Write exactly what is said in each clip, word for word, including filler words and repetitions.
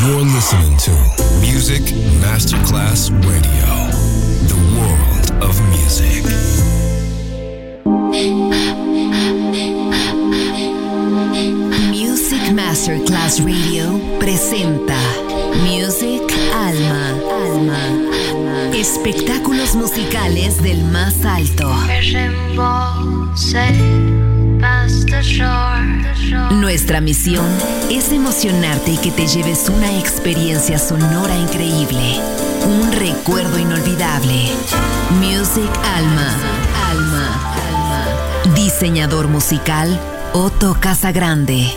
You're listening to Music Masterclass Radio, the world of music. Music Masterclass Radio presenta Music Alma, Alma, espectáculos musicales del más alto. Nuestra misión es emocionarte y que te lleves una experiencia sonora increíble, un recuerdo inolvidable. Music Alma, Alma, Alma. Diseñador musical Otto Casagrande.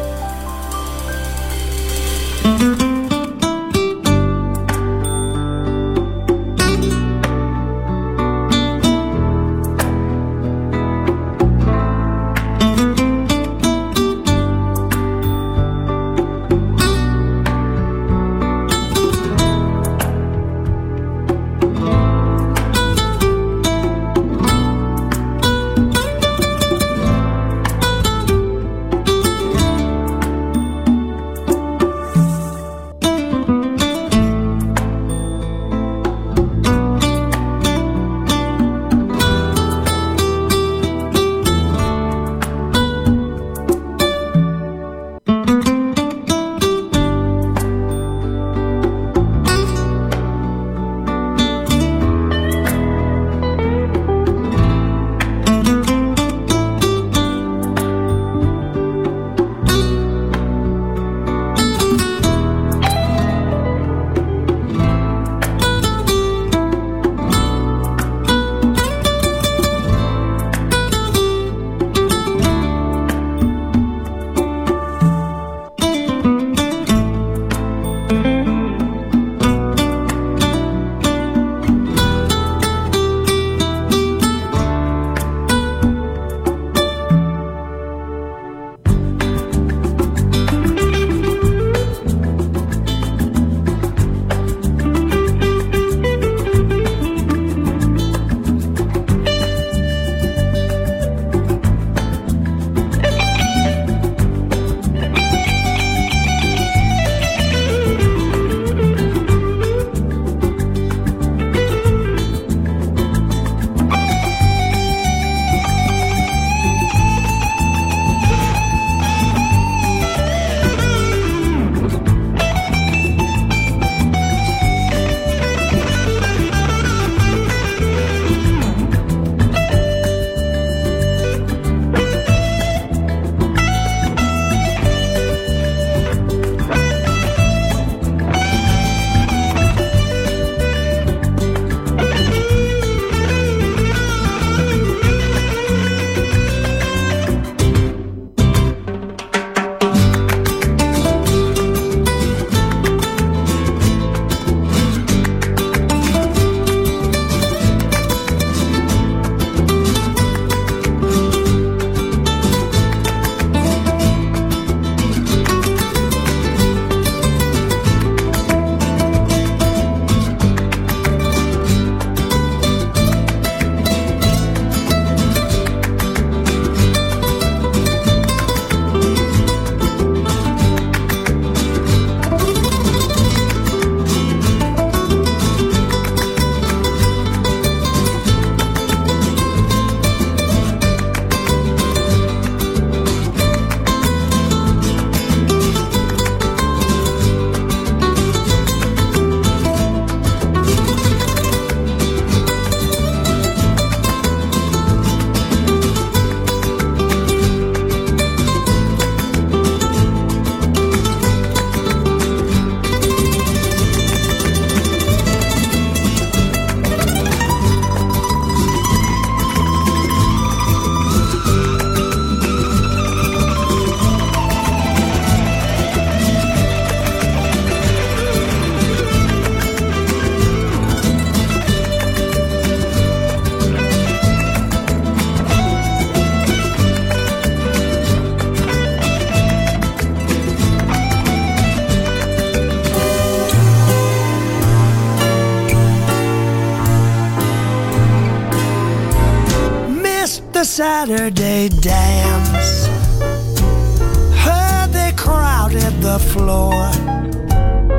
Saturday dance, heard they crowded the floor.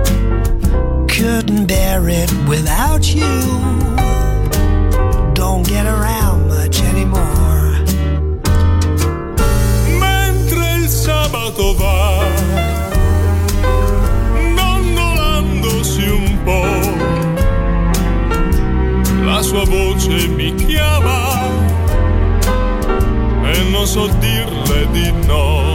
couldn't bear it without you. Don't get around much anymore. Mentre il sabato va dondolandosi un po', la sua voce mi chiama e non so dirle di no.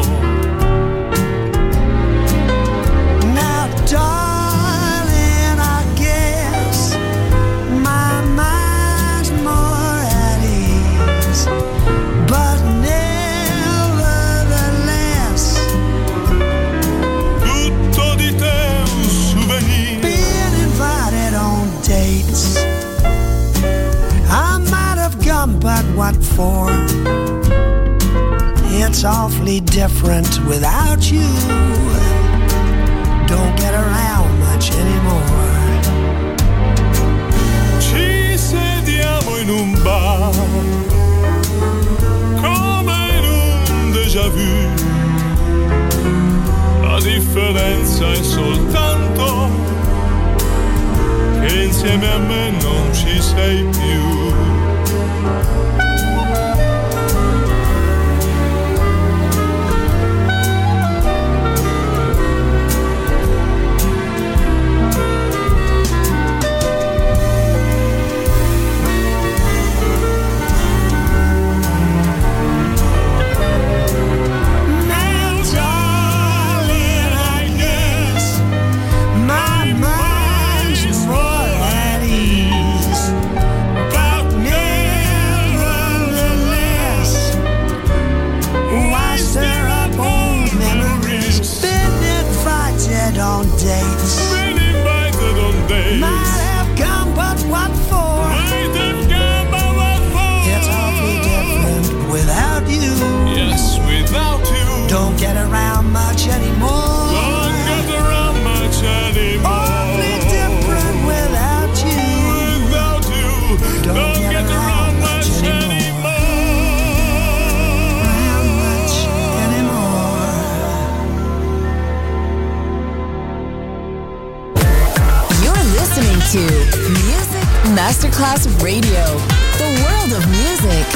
Now darling, I guess my mind's more at ease, but nevertheless tutto di te è un souvenir. being invited on dates, I might have gone, but what for? It's awfully different without you. Don't get around much anymore. Ci sediamo in un bar come in un déjà vu. La differenza è soltanto che insieme a me non ci sei più. Now, darling, I guess my mind's more at ease, but nevertheless, why stir up old memories? Been invited on dates, Been invited on dates. might have come, but what for? Might have come, but what for? It's awfully different without you. Yes, without you. Don't get around much anymore. Don't get around much anymore. Awfully different without you. Without you. Don't Don't get get around around much much anymore. anymore. Around much anymore. You're listening to Music Masterclass Radio, the world of music.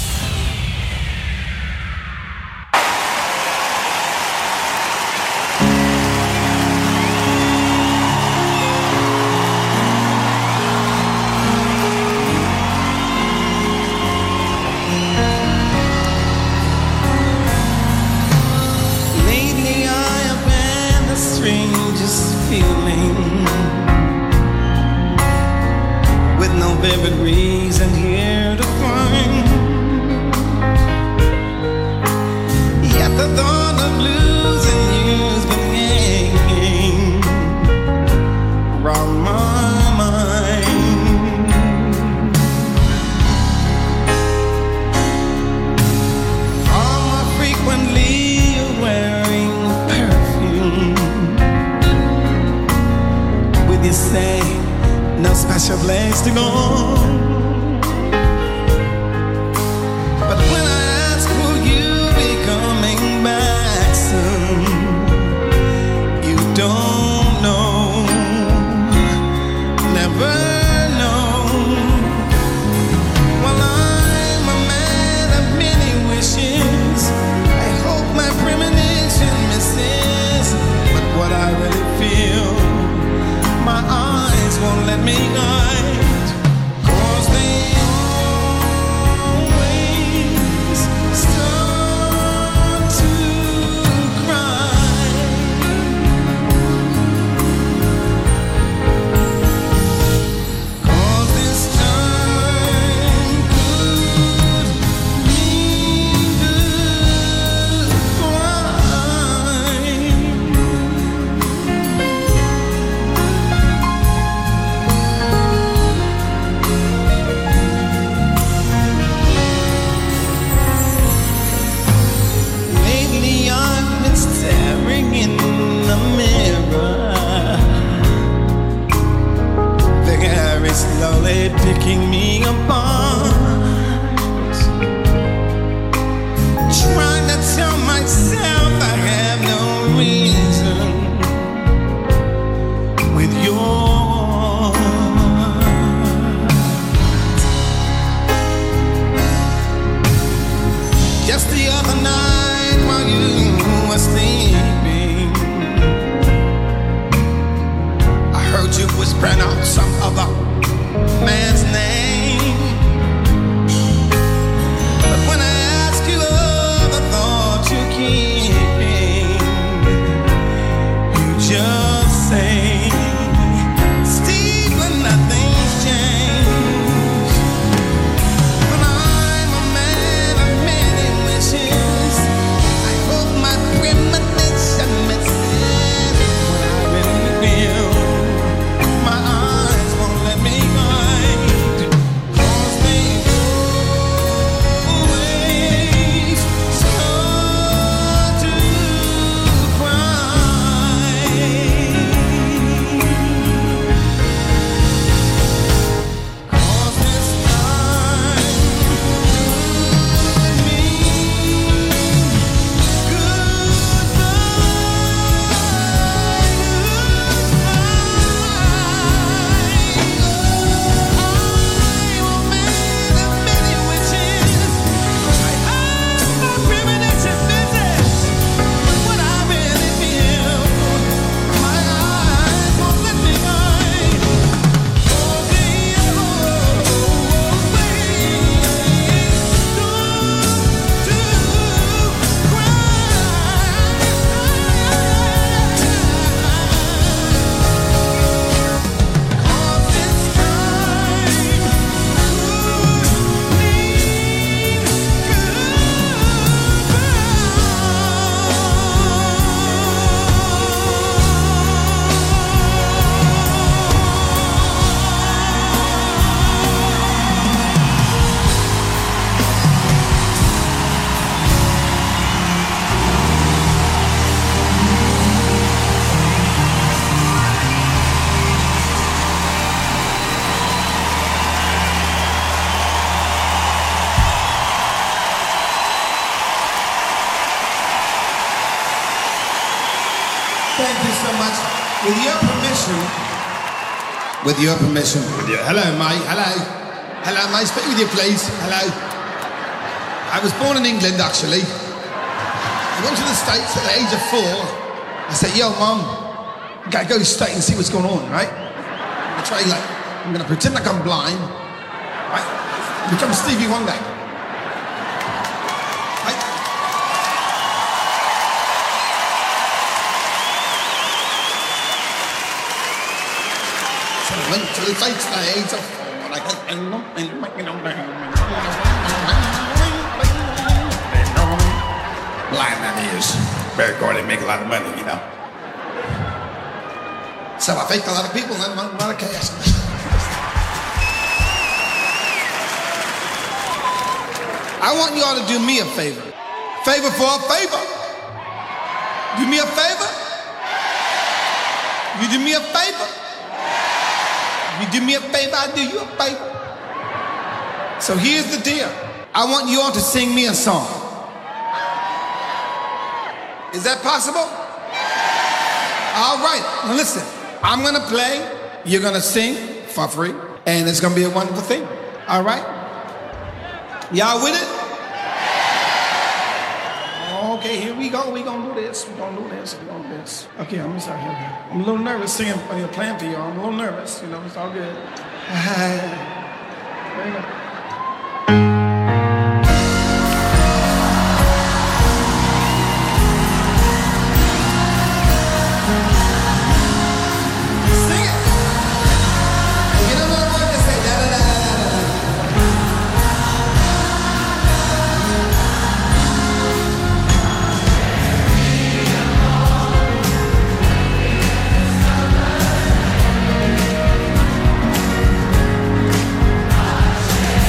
Lately I have had the strangest feeling, with no vivid reason here to find. Yet the thought of losing you's been hanging round my mind. Are more frequently wearing perfume? With you say no special place to go. But when I ask, will you be coming back soon? You don't know, never know. Well, I'm a man of many wishes. I hope my premonition misses. But what I really feel, my eyes won't let me hide. 'Cause they always start to cry. 'Cause this time could mean goodbye. pronounce some other man's name. But when I ask you of the thoughts you keep, you just say, Stephen, nothing's changed. But I'm a man of many wishes. I hope my premonition misses what I really feel. My eyes won't let me hide, 'cause they always start to cry. 'Cause this time could mean Thank you so much. With your permission, with your permission, with your, hello, mate, hello. Hello, mate, speak with you, please. Hello. I was born in England, actually. I went to the States at the age of four. I said, yo, Mom, I gotta go to the States and see what's going on, right? I'm gonna try, like, I'm gonna pretend like I'm blind, right? Become Stevie Wonder. Right? So I went to the States at the age of four. Like, blind that is. Very good, they make a lot of money, you know. So I faked a lot of people and a lot of cash. I want you all to do me a favor. Favor for a favor. Do me a favor. You do me a favor. You do me a favor, I do you a favor. So here's the deal. I want you all to sing me a song. Is that possible? All right, now listen. I'm gonna play, you're gonna sing for free, and it's gonna be a wonderful thing. All right? Y'all with it? Okay, here we go. We gonna do this. We gonna do this. We gonna do this. Okay, I'm gonna start here. I'm a little nervous singing, you know, playing for y'all. I'm a little nervous. You know, it's all good. There you go. Thank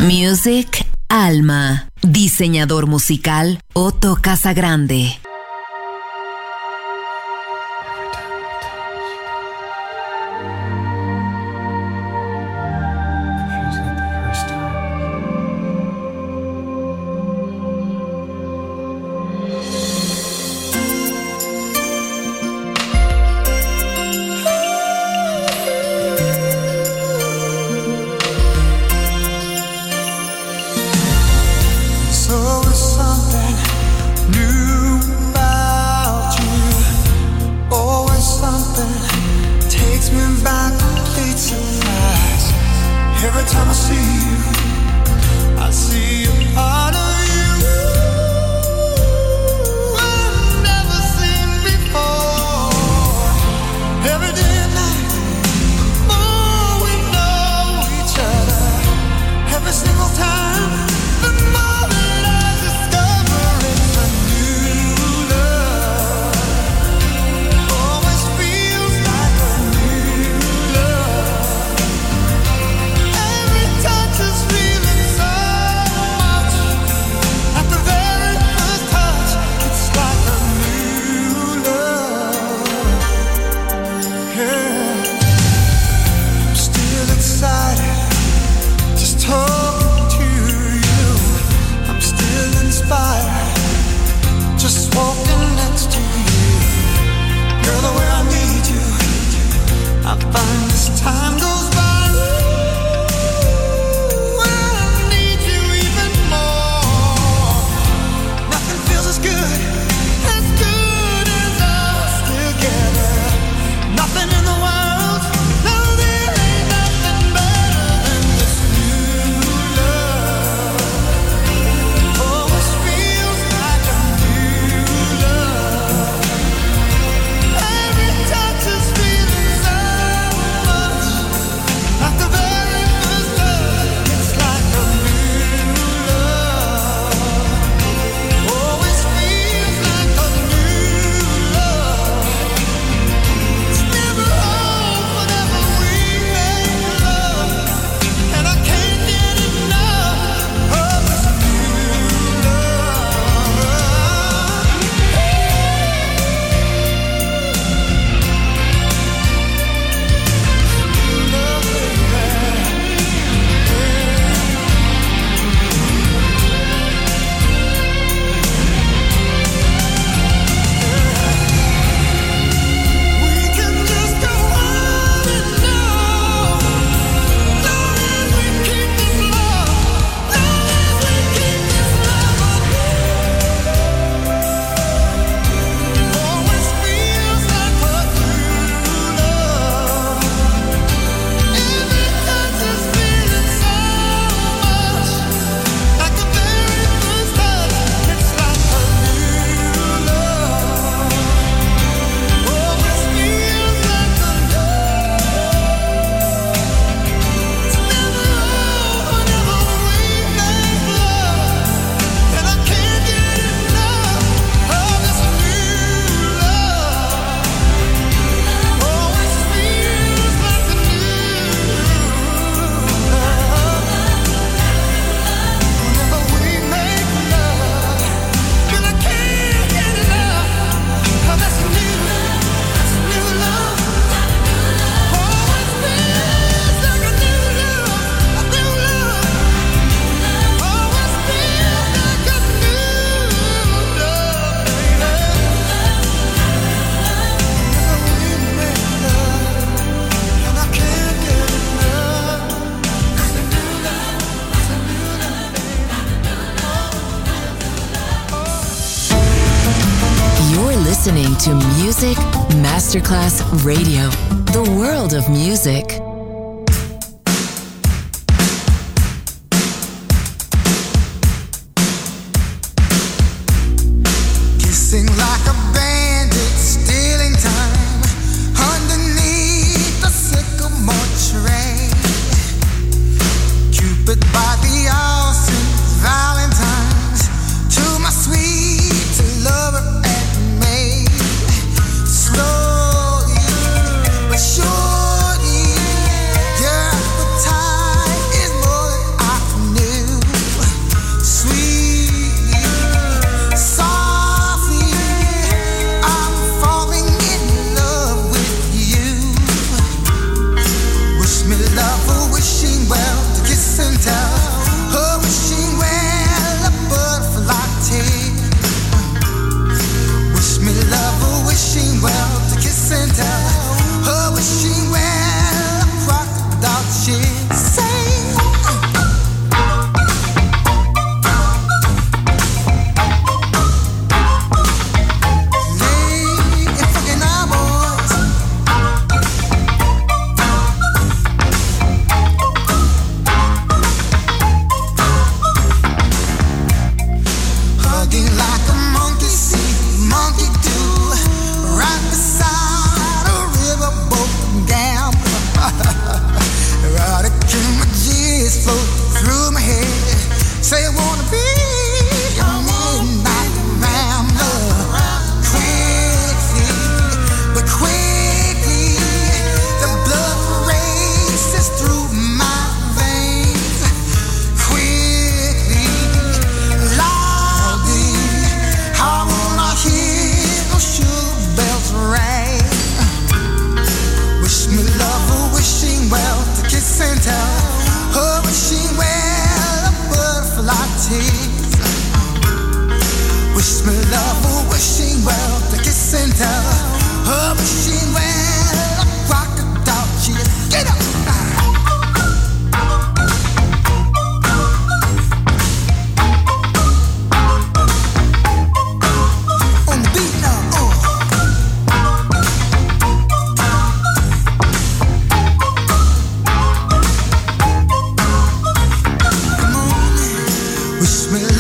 Music Alma. Diseñador musical Otto Casagrande. listening to Music Masterclass Radio, the world of music. Kissing like a bandit, stealing time underneath the sycamore tree. Cupid by the ocean, Valentine's to my sweet lover and maid. Slowly but surely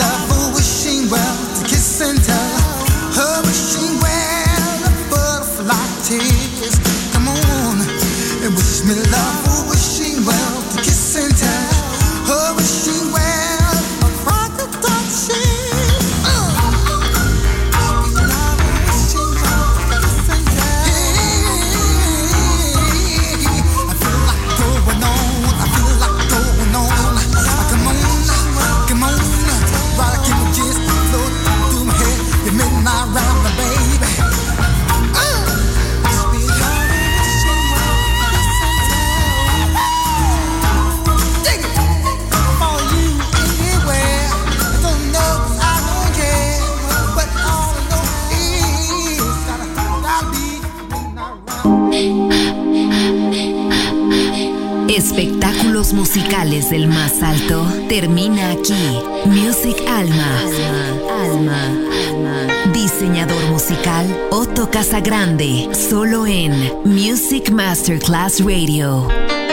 love for wishing well to kiss and tell her wishing well the butterfly tears. Come on and wish me love for wishing well to kiss and tell her wishing well a rocket dog shit. Espectáculos musicales del más alto termina aquí. Music Alma. Alma. Alma. Diseñador musical Otto Casagrande. Solo en Music Masterclass Radio.